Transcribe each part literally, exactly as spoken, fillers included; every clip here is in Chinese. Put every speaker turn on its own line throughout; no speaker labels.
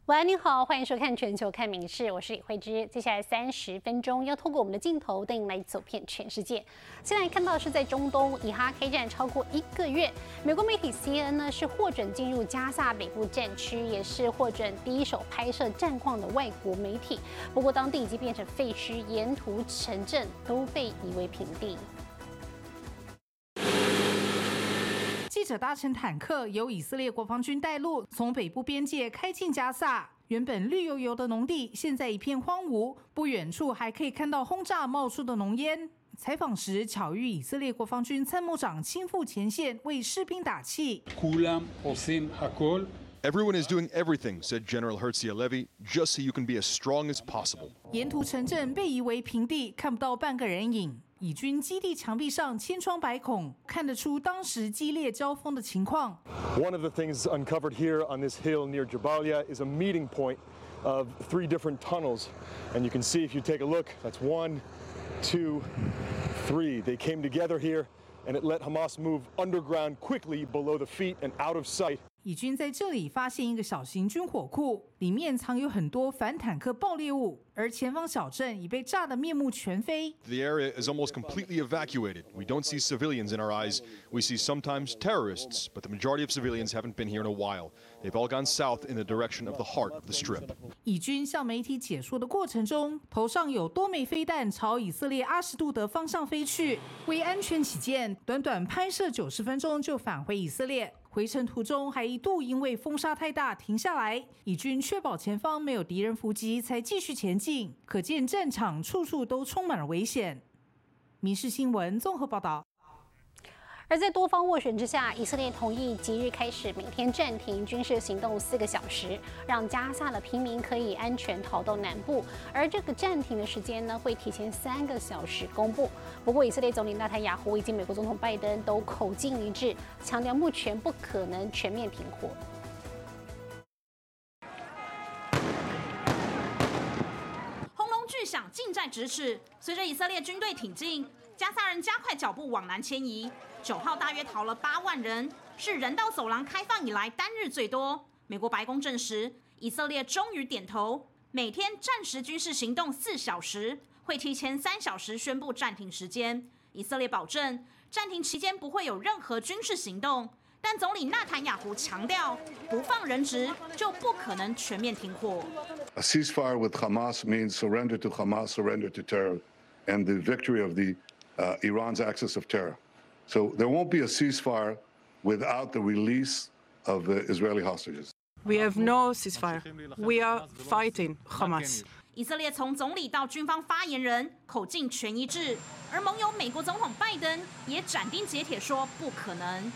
晚安，你好，欢迎收看《全球看民事》，我是李慧芝。接下来三十分钟要透过我们的镜头带您来走遍全世界。现在看到的是在中东，以哈开战超过一个月，美国媒体 C N N 呢是获准进入加萨北部战区，也是获准第一手拍摄战况的外国媒体。不过当地已经变成废墟，沿途城镇都被夷为平地。
记者搭乘坦克，由以色列国防军带路，从北部边界开进加萨。原本绿油油的农地，现在一片荒芜，不远处还可以看到轰炸冒出的浓烟。采访时，巧遇以色列国防军参谋长亲赴前线为士兵打气。
Everyone is doing everything, said General Herzi Halevi, just so you can be as strong as possible.
沿途城镇被夷为平地，看不到半个人影。以军基地墙壁上千疮百孔，看得出当时激烈交锋的情况。
One of the things uncovered here on this hill near Jabalia is a meeting point of three different tunnels, and you can see if you take a look, that's one, two, three. They came together here, and it let Hamas move underground quickly below the feet and out of sight.
以军在这里发现一个小型军火库，里面藏有很多反坦克爆裂物，而前方小镇已被炸得面目全非。
The area is almost completely evacuated. We don't see civilians in our eyes. We see sometimes terrorists, but the majority of civilians haven't been here in a while. They've all gone south in the direction of the heart of the strip.
以军向媒体解说的过程中，头上有多枚飞弹朝以色列阿什杜德方向飞去。为安全起见，短短拍摄九十分钟就返回以色列。回程途中还一度因为风沙太大停下来，以军确保前方没有敌人伏击，才继续前进。可见战场处处都充满了危险。民事新闻综合报道。
而在多方斡旋之下，以色列同意即日开始每天暂停军事行动四个小时，让加萨的平民可以安全逃到南部。而这个暂停的时间呢，会提前三个小时公布。不过，以色列总理纳坦雅胡以及美国总统拜登都口径一致，强调目前不可能全面停火。
轰隆巨响，近在咫尺。随着以色列军队挺进，加萨人加快脚步往南迁移。九号大约逃了八万人，是人道走廊开放以来单日最多。美国白宫证实，以色列终于点头，每天暂时军事行动四小时，会提前三小时宣布暂停时间。以色列保证，暂停期间不会有任何军事行动。但总理纳坦雅胡强调，不放人质就不可能全面停火。
A ceasefire with Hamas means surrender to Hamas, surrender to terror, and the victory of the uh, Iran's axis of terror. So there won't be a ceasefire without the release of the Israeli hostages.
We have no ceasefire. We are fighting Hamas.
以色列从总理到军方发言人口径全一致，而盟友美国总统拜登也斩钉截铁说不可能。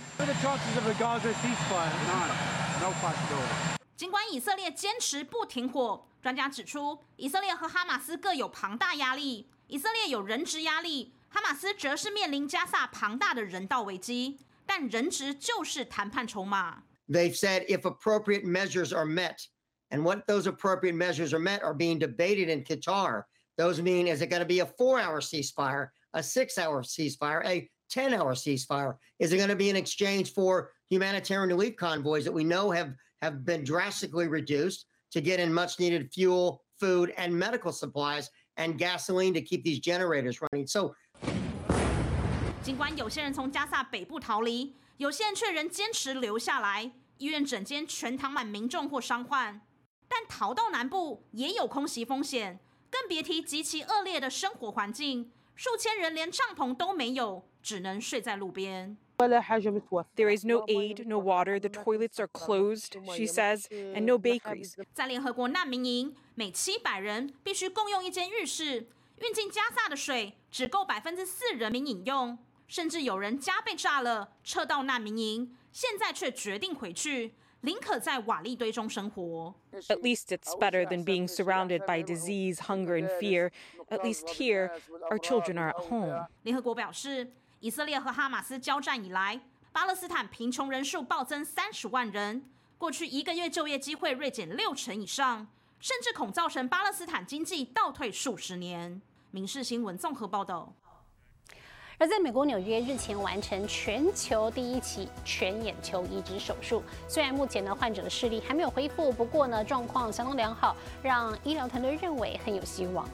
尽管以色列坚持不停火，专家指出，以色列和哈马斯各有庞大压力，以色列有人质压力。哈马斯则是面临加萨庞大的人道危机，但人质就是谈判筹码。
They've said if appropriate measures are met, and what those appropriate measures are met are being debated in Qatar. Those mean, is it going to be a four-hour ceasefire, a six-hour ceasefire, a ten-hour ceasefire? Is it going to be in exchange for humanitarian relief convoys that we know have, have been drastically reduced to get in much-needed fuel, food, and medical supplies, and gasoline to keep these generators running? So.
尽管有些人从加萨北部逃离，有些人却仍坚持留下来。医院整间全躺满民众或伤患，但逃到南部也有空袭风险，更别提极其恶劣的生活环境。数千人连帐篷都没有，只能睡在路边。
There is no aid, no water. The toilets are closed, she says, and no bakeries.
在联合国难民营，每七百人必须共用一间浴室，运进加萨的水只够百分之四人民饮用。甚至有人家被炸了，撤到难民营，现在却决定回去，宁可在瓦砾堆中生活。
At least it's better than being surrounded by disease, hunger, and fear. At least here, our children are at home.
联合国表示，以色列和哈马斯交战以来，巴勒斯坦贫穷人数暴增三十万人，过去一个月就业机会锐减六成以上，甚至恐造成巴勒斯坦经济倒退数十年。民事新闻综合报道。
而在美国纽约日前完成全球第一起全眼球移植手术，虽然目前呢患者的视力还没有恢复，不过呢状况相当良好，让医疗团队认为很有希望。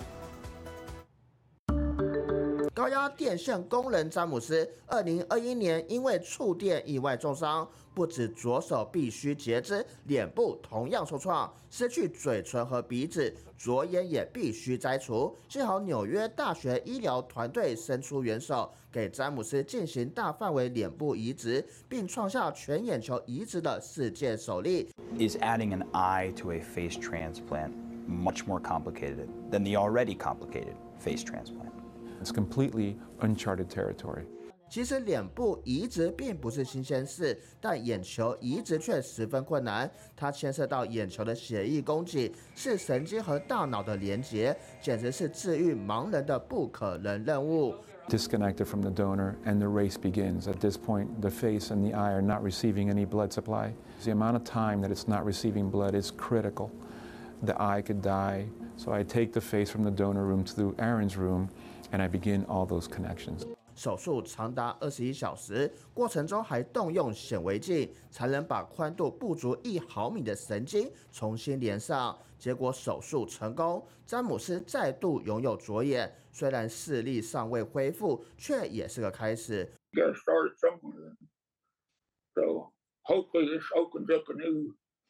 高压电线工人詹姆斯，二零二一年因为触电意外重伤，不止左手必须截肢，脸部同样受创，失去嘴唇和鼻子，左眼也必须摘除。幸好纽约大学医疗团队伸出援手，给詹姆斯进行大范围脸部移植，并创下全眼球移植的世界首例。
Is adding an eye to a face transplant much more complicated than the already complicated face transplant?It's
completely uncharted territory.
其实脸部移植并不是新鲜事，但眼球移植却十分困难。它牵涉到眼球的血液供给，是神经和大脑的连结，简直是治愈盲人的不可能任务。
Disconnected from the donor, and the race begins. At this point, the face and the eye are not receiving any blood supply. The amount of time that it's not receiving blood is critical. The eye could die, so I take the face from the donor room to Aaron's room.And I begin all those connections.
手术长达二十一小时，过程中还动用显微镜，才能把宽度不足一毫米的神经重新连上。结果手术成功，詹姆斯再度拥有左眼，虽然视力尚未恢复，却也是个开始。
Got started somewhere, so hopefully this opens up a new,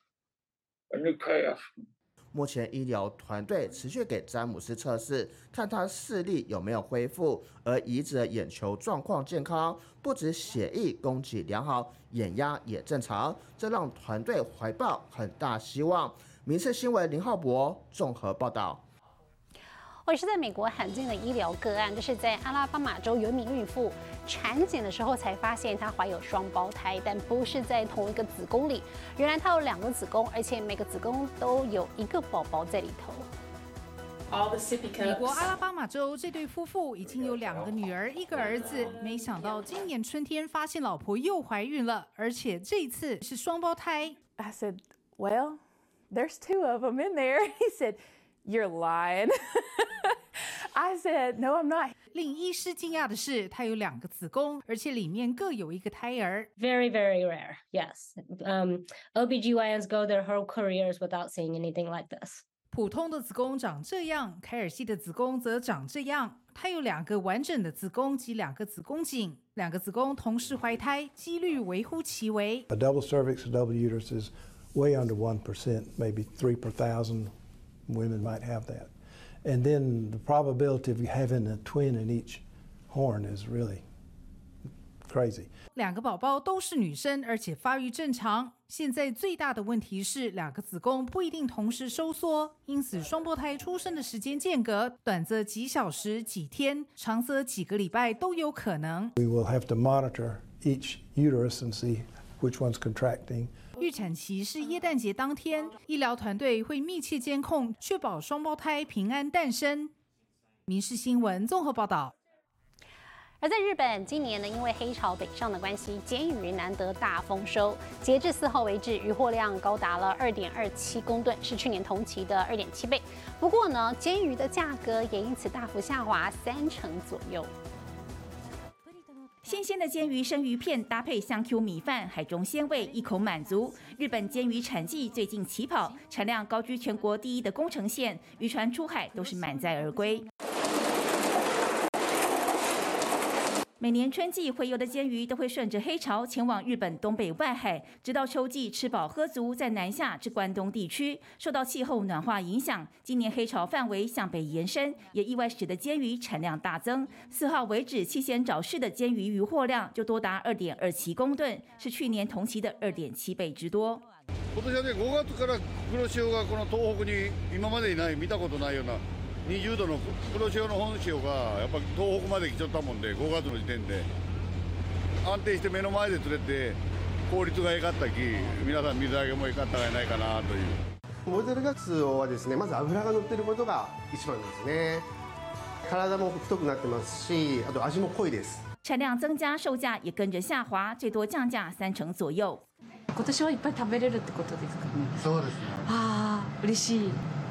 a new path.
目前医疗团队持续给詹姆斯测试，看他视力有没有恢复，而移植的眼球状况健康，不止血液供给良好，眼压也正常，这让团队怀抱很大希望。民视新闻林浩博综合报道。
我也是在美国罕见的医疗个案，这是在阿拉巴马州有一名孕妇产检的时候才发现她怀有双胞胎，但不是在同一个子宫里。原来她有两个子宫，而且每个子宫都有一个宝宝在里头。
美国阿拉巴马州这对夫妇已经有两个女儿，一个儿子，没想到今年春天发现老婆又怀孕了，而且这一次是双胞胎。
I said, "Well, there's two of them in there." He said, "You're lying." I said, "No, I'm not."
令医师惊讶的是，她有两个子宫，而且里面各有一个胎儿。
Very, very rare. Yes. Um, O B G Y Ns go their whole careers without seeing anything like this.
普通的子宫长这样，凯尔西的子宫则长这样。她有两个完整的子宫及两个子宫颈，两个子宫同时怀胎，几率微乎其微。
A double cervix, a double uterus is way under one percent, maybe three per thousand women might have that.And then the probability of having a twin in each horn is really crazy.
两个宝宝都是女生，而且发育正常。现在最大的问题是，两个子宫不一定同时收缩，因此双胞胎出生的时间间隔，短则几小时、几天，长则几个礼拜都有可能。
We will have to monitor each uterus and see which one's contracting.
预产期是耶诞节当天，医疗团队会密切监控，确保双胞胎平安诞生。民视新闻综合报道。
而在日本，今年呢，因为黑潮北上的关系，鲣鱼难得大丰收。截至四号为止，渔获量高达了二点二七公吨，是去年同期的二点七倍。不过呢，鲣鱼的价格也因此大幅下滑三成左右。
新鲜的鲣鱼生鱼片搭配香 Q 米饭，海中鲜味，一口满足。日本鲣鱼产季最近起跑，产量高居全国第一的宫城县，渔船出海都是满载而归。每年春季洄游的鲣鱼都会顺着黑潮前往日本东北外海，直到秋季吃饱喝足，再南下至关东地区。受到气候暖化影响，今年黑潮范围向北延伸，也意外使得鲣鱼产量大增。四号为止，七贤沼市的鲣鱼渔获量就多達二点二七公吨，是去年同期的二点七倍之多。
今年はね、ごがつから黒潮がこの東北に今までにない見たことないようなにじゅうどの黒潮の本潮がやっぱ東北まで来ちゃったもんで、ごがつの時点で安定して目の前で釣れて効率が良かったき、皆さん水揚げも良かったんじゃないかなという。
モルデルガツオはですね、まず脂が乗っていることが一番ですね。体も太くなってますし、あと味も濃いです。
产量增加，售价也跟着下滑，最多降价三成左右。
今年はいっぱい食べれるってことですかね。
そうですね。
ああ、嬉しい。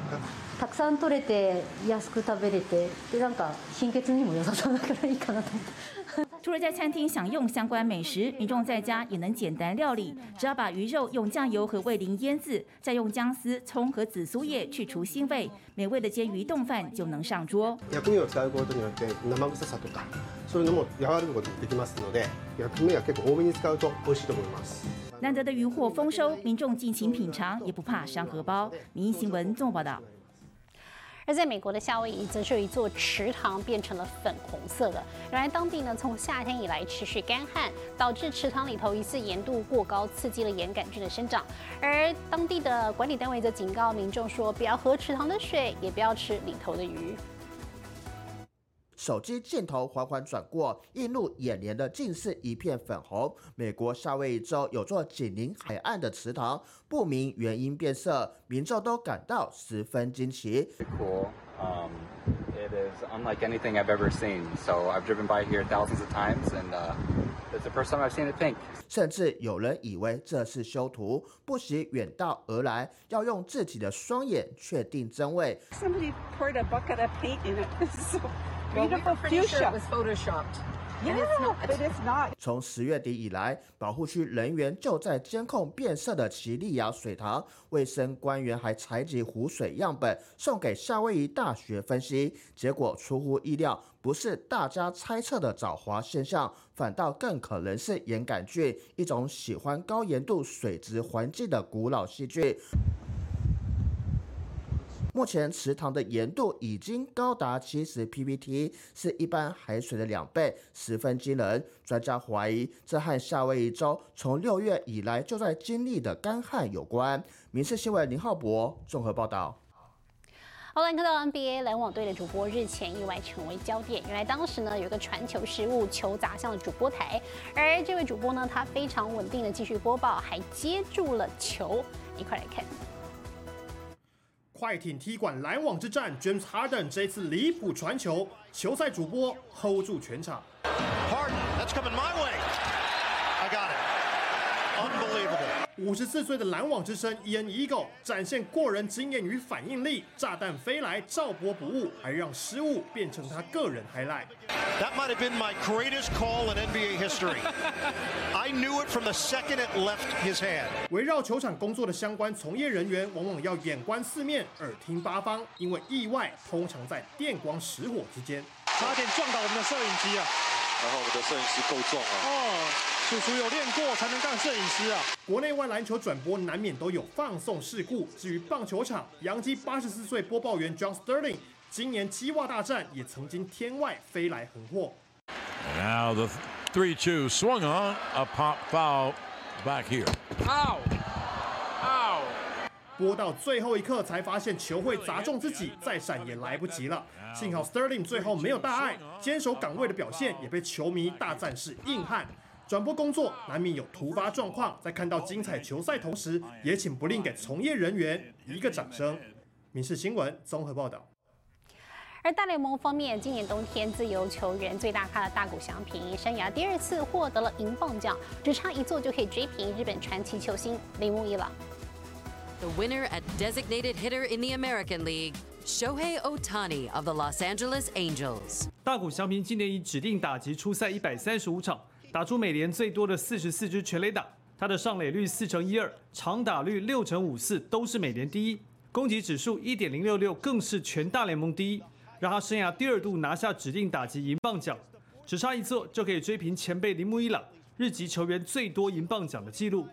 たくさん取れて安く食べれてでなんか貧血にも良さそうだからいいかなと思って。
除了在餐厅享用相关美食，民众在家也能简单料理，只要把鱼肉用酱油和味淋腌制，再用姜丝、葱和紫苏叶去除腥味，美味的煎鱼冻饭就能上桌。
薬味を使うことによって生臭さとかそういうのも和らぐことができますので、薬味は結構多めに使うと美味しいと思います。
难得的渔获丰收，民众尽情品尝，也不怕伤荷包。民意新闻综合报道。
而在美国的夏威夷，则是有一座池塘变成了粉红色的。原来当地呢，从夏天以来持续干旱，导致池塘里头疑似盐度过高，刺激了盐杆菌的生长。而当地的管理单位则警告民众说，不要喝池塘的水，也不要吃里头的鱼。
手机镜头缓缓转过，映入眼帘的竟是一片粉红。美国夏威夷州有座紧邻海岸的池塘，不明原因变色，民众都感到十分惊奇。
Cool. Um, it is unlike anything I've ever seen. So I've driven by here thousands of times, and uh, it's the first time I've seen it pink.
甚至有人以为这是修图，不惜远道而来，要用自己的双眼确定真伪。
Somebody poured a bucket of paint in it. So
well, we were pretty sure it was photoshopped.
Yeah, but it's not.
从十月底以来，保护区人员就在监控变色的奇利亚水塘，卫生官员还采集湖水样本送给夏威夷大学分析，结果出乎意料，不是大家猜测的藻华现象，反倒更可能是盐杆菌，一种喜欢高盐度水质环境的古老细菌。目前池塘的盐度已经高达七十 P P T， 是一般海水的两倍，十分惊人。专家怀疑这和夏威夷州从六月以来就在经历的干旱有关。民视新闻林浩博综合报道。
好，来看到 N B A 篮网队的主播日前意外成为焦点。原来当时呢有一个传球失误，球砸向了主播台，而这位主播呢他非常稳定的继续播报，还接住了球。一块来看。
快艇踢馆篮网之战 ，James Harden 这一次离谱传球，球赛主播 hold 住全场。
Harden, that's coming my way. I got it. Unbelievable.
五十四岁的篮网之神 Ian Eagle 展现过人经验与反应力，炸弹飞来照播不误，还让失误变成他个人 highlight。
That might have been my greatest call in N B A history. I knew it from the second it left his hand.
围绕球场工作的相关从业人员，往往要眼观四面，耳听八方，因为意外通常在电光石火之间。 差点撞到我们的摄影机啊！
然后我们的摄影师够重啊！
哦，叔叔有练过才能当摄影师啊！国内外篮球转播难免都有放送事故。至于棒球场，洋基八十四岁播报员 John Sterling。今年鸡袜大战也曾经天外飞来横祸。
Now the three two swung on a pop foul back here. Ow! Ow!
播到最后一刻才发现球会砸中自己，再闪也来不及了。幸好 Sterling 最后没有大碍，坚守岗位的表现也被球迷大赞是硬汉。转播工作难免有突发状况，在看到精彩球赛同时，也请不吝给从业人员一个掌声。民视新闻综合报道。
而大联盟方面，今年冬天自由球员最大咖的大谷翔平，生涯第二次获得了银棒奖，只差一座就可以追平日本传奇球星铃木一朗。
The winner at designated hitter in the American League, Shohei Ohtani of the Los Angeles Angels.
大谷翔平今年以指定打击出赛一百三十五场，打出美联最多的四十四支全垒打，他的上垒率四成一二，长打率六成五四，都是美联第一，攻击指数一点零六六，更是全大联盟第一。让他生涯第二度拿下指定打击银棒奖，只差一座就可以追平前辈铃木一朗日籍球员最多银棒奖的纪录。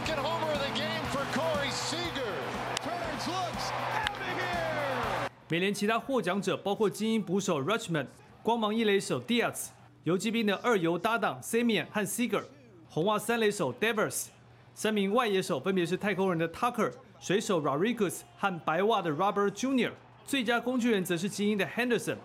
美联其他获奖者包括精英捕手 Rutschman、光芒一垒手 Diaz、游击兵的二游搭档 Semien 和 Seager、红袜三垒手 Devers， 三名外野手分别是太空人的 Tucker、水手 Rodriguez 和白袜的 Robert Junior， 最佳工具人则是精英的 Henderson。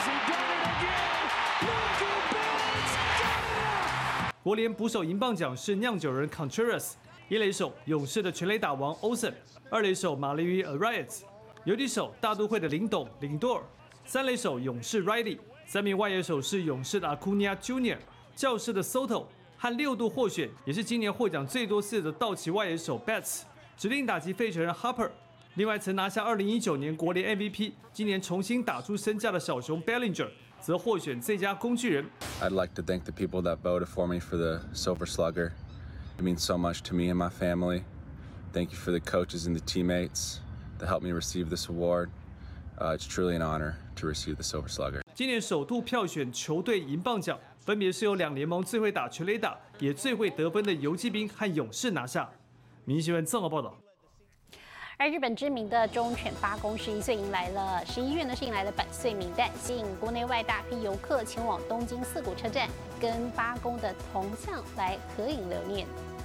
国联捕手银棒奖是酿酒人 Contreras， 一垒手勇士的全垒打王 Olsen， 二垒手马林鱼 Arias， 游击手大都会的林董林多尔，三垒手勇士 Riley， 三名外野手是勇士的 Acuna Junior， 教士的 Soto， 和六度获选也是今年获奖最多次的道奇外野手 Betts， 指定打击费城人 Harper， 另外，曾拿下二零一九年国联 M V P， 今年重新打出身价的小熊 Bellinger 则获选最佳工具人。
I'd like to thank the people that voted for me for the Silver Slugger. It means so much to me and my family. Thank you for the coaches and the teammates that helped me receive this award. Uh, it's truly an honor to receive the Silver Slugger.
今年首度票选球队银棒奖，分别是由两联盟最会打全垒打也最会得分的游击兵和勇士拿下。民生新闻综合报道。
而日本知名的忠犬八公十一岁迎来了十一月呢是迎来了百岁名单，吸引国内外大批游客前往东京涩谷车站，跟八公的铜像来合影留念。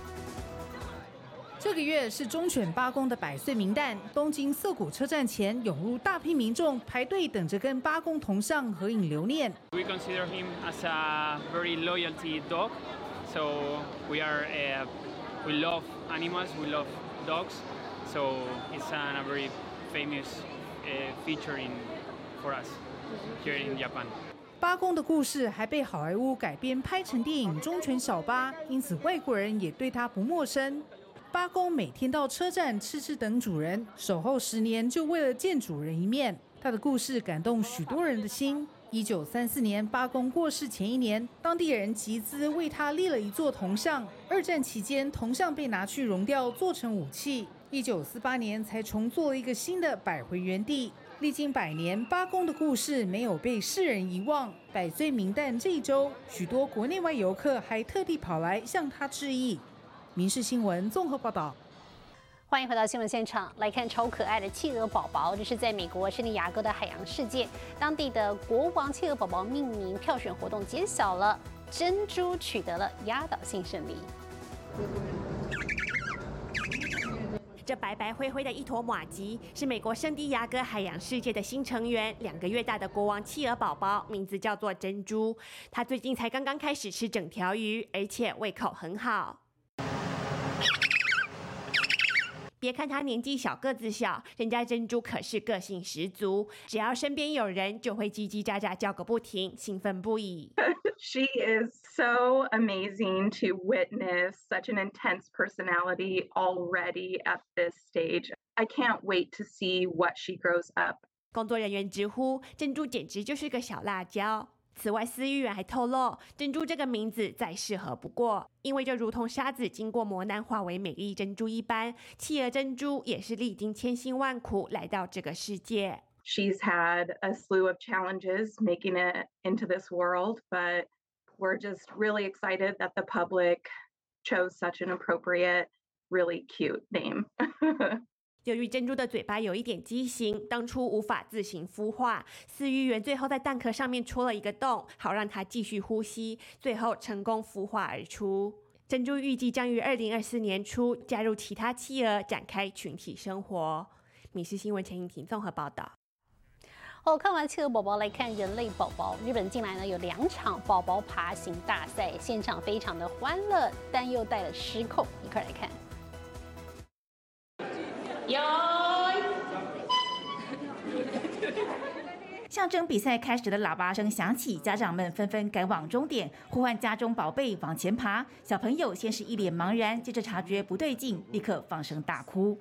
这个月是忠犬八公的百岁名单，东京涩谷车站前涌入大批民众排队等着跟八公铜像合影留念。
We consider him as a very loyalty dog, so we are uh, we love animals, we love dogs. So it's a very famous uh, feature in for us here in Japan.
八公的故事还被好莱坞改编拍成电影《忠犬小八》，因此外国人也对他不陌生。八公每天到车站痴痴等主人，守候十年就为了见主人一面。他的故事感动许多人的心。一九三四年，八公过世前一年，当地人集资为他立了一座铜像。二战期间，铜像被拿去熔掉，做成武器。一九四八年才重做了一个新的，摆回原地。历经百年，八公的故事没有被世人遗忘。百岁名单这一周，许多国内外游客还特地跑来向他致意。民视新闻综合报道。
欢迎回到新闻现场，来看超可爱的企鹅宝宝。这是在美国圣地亚哥的海洋世界，当地的国王企鹅宝宝命名票选活动揭晓了，珍珠取得了压倒性胜利。
这白白灰灰的一坨马吉是美国圣地亚哥海洋世界的新成员，两个月大的国王企鹅宝宝，名字叫做珍珠。他最近才刚刚开始吃整条鱼，而且胃口很好。别看他年纪小，个子小，人家珍珠可是个性十足，只要身边有人，就会叽叽喳喳叫个不停，兴奋不已。
She is so amazing to witness such an intense personality already at this stage. I can't wait to see what she grows up.
工作人员直呼，珍珠简直就是个小辣椒。此外，饲育员还透露，珍珠这个名字再适合不过，因为就如同沙子经过磨难化为美丽珍珠一般，企鹅珍珠也是历经千辛万苦来到这个世界。
She's had a slew of challenges making it into this world, but we're just really excited that the public chose such an appropriate, really cute name.
由于珍珠的嘴巴有一点畸形，当初无法自行孵化，饲育员最后在蛋壳上面戳了一个洞，好让它继续呼吸，最后成功孵化而出。珍珠预计将于二零二四年初加入其他企鹅，展开群体生活。民视新闻陈颖婷综合报道。
哦，看完企鹅宝宝，来看人类宝宝。日本近来呢有两场宝宝爬行大赛，现场非常的欢乐，但又带了失控，一块来看。
象征比赛开始的喇叭声响起，家长们纷纷赶往终点，呼唤家中宝贝往前爬。小朋友先是一脸茫然，接着察觉不对劲，立刻放声大哭。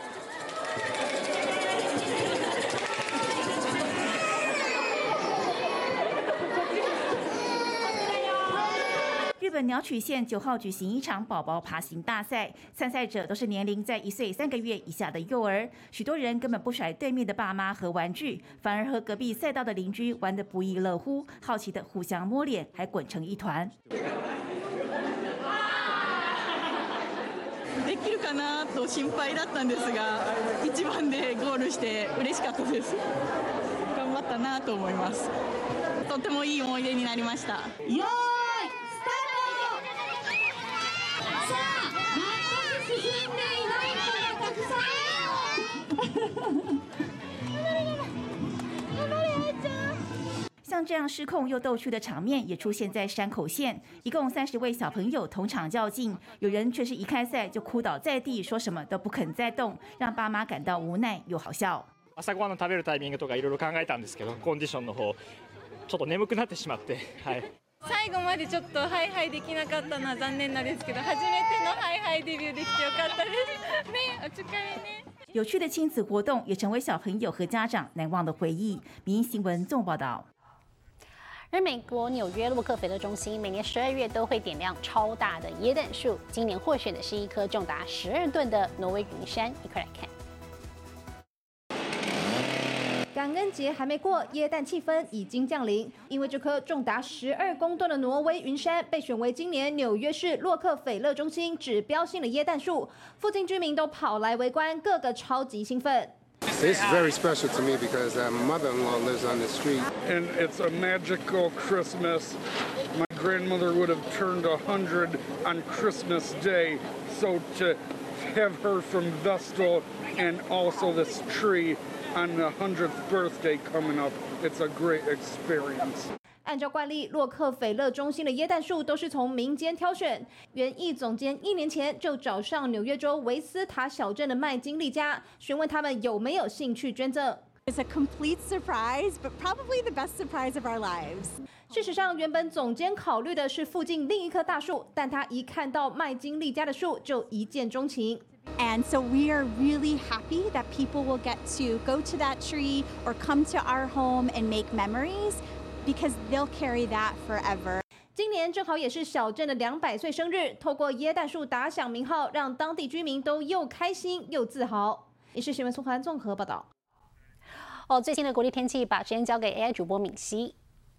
日本鸟取县九号举行一场宝宝爬行大赛，参赛者都是年龄在一岁三个月以下的幼儿。许多人根本不甩对面的爸妈和玩具，反而和隔壁赛道的邻居玩得不亦乐乎，好奇的互相摸脸，还滚成一团。
できるかなと心配だったんですが、一番でゴールして嬉しかったです。頑張ったなと思います。とてもいい思い出になりました。よー
像这样失控又逗趣的场面也出现在山口县，一共三十位小朋友同场较劲，有人却是一开赛就哭倒在地，说什么都不肯再动，让爸妈感到无奈又好笑。
朝ごはんの食べるタイミングとかいろいろ考えたんですけど、コンディションの方ちょっと眠くなってしまって、はい。
最後までちょっとハイハイできなかったのは残念なんですけど、初めてのハイハイデビューできてよかったです。ね、お疲れね。
有趣的亲子活动也成为小朋友和家长难忘的回忆。民营新闻综合报道。
而美国纽约洛克菲勒中心每年十二月都会点亮超大的椰蛋树，今年获选的是一棵重达十二吨的挪威云杉，一块来看。
感恩节还没过，耶诞气氛已经降临。因为这棵重达十二公吨的挪威云杉被选为今年纽约市洛克菲勒中心指标性的耶诞树，附近居民都跑来围观，个个超级兴奋。
This is very special to me because uh, my mother-in-law lives on the street.
And it's a magical Christmas. My grandmother would have turned one hundred on Christmas Day, so to have her from Vestal and also this tree on the hundredth birthday coming up, it's a great experience.
按照惯例，洛克菲勒中心的耶诞树都是从民间挑选。园艺总监一年前就找上纽约州维斯塔小镇的麦金利家，询问他们有没有兴趣捐赠。
It's a complete surprise, but probably the best surprise of our lives.
事实上，原本总监考虑的是附近另一棵大树，但他一看到麦金利家的树，就一见钟情。
And so we are really happy that people will get to go to that tree or come to our home and make memories, because they'll carry that forever.
今年正好也是小镇的两百岁生日，透过耶诞树打响名号，让当地居民都又开心又自豪。以上新闻苏涵综合报道。
哦，最新的国际天气，把时间交给 A I 主播敏熙。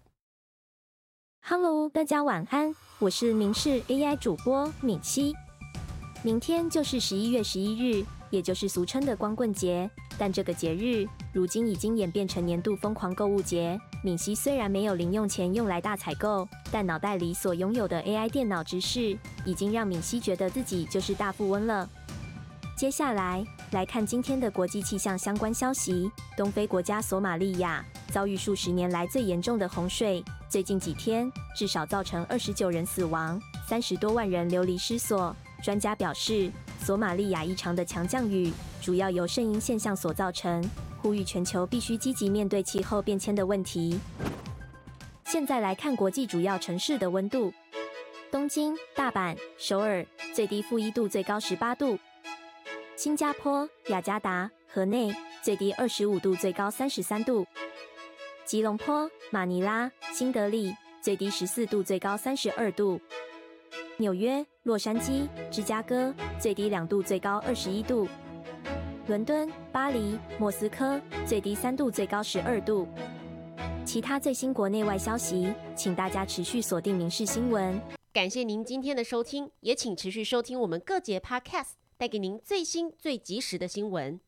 Hello， 大家晚安，我是民视 A I 主播敏熙。明天就是十一月十一日，也就是俗称的光棍节。但这个节日如今已经演变成年度疯狂购物节。敏熙虽然没有零用钱用来大采购，但脑袋里所拥有的 A I 电脑知识，已经让敏熙觉得自己就是大富翁了。接下来来看今天的国际气象相关消息。东非国家索马利亚遭遇数十年来最严重的洪水，最近几天至少造成二十九人死亡，三十多万人流离失所。专家表示，索马利亚异常的强降雨主要由圣婴现象所造成，呼吁全球必须积极面对气候变迁的问题。现在来看国际主要城市的温度：东京、大阪、首尔最低负一度，最高十八度；新加坡、雅加达、河内最低二十五度，最高三十三度；吉隆坡、马尼拉、新德里最低十四度，最高三十二度；纽约、洛杉矶、芝加哥最低两度，最高二十一度；伦敦、巴黎、莫斯科最低三度，最高十二度。其他最新国内外消息，请大家持续锁定民视新闻。
感谢您今天的收听，也请持续收听我们各节 Podcast， 带给您最新最及时的新闻。